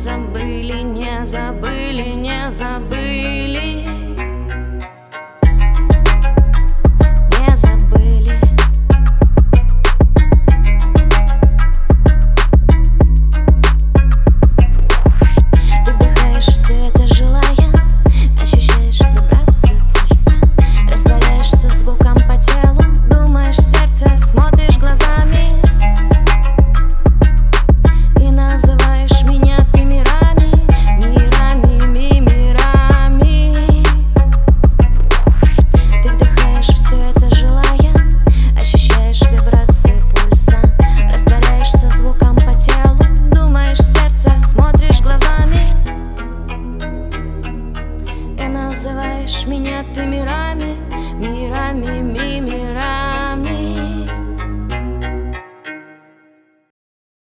забыли, не забыли, не забыли. Не забыли. Ты вдыхаешь все это, желая, ощущаешь вибрацию пульса, растворяешься звуком по телу, думаешь в сердце, смотришь глазами и называешь меня ты мирами, мирами, мирами. Ты вдыхаешь все это, желая, ощущаешь вибрацию пульса, растворяешься звуком по телу, думаешь в сердце, смотришь глазами и называешь меня ты мирами, мирами, мирами.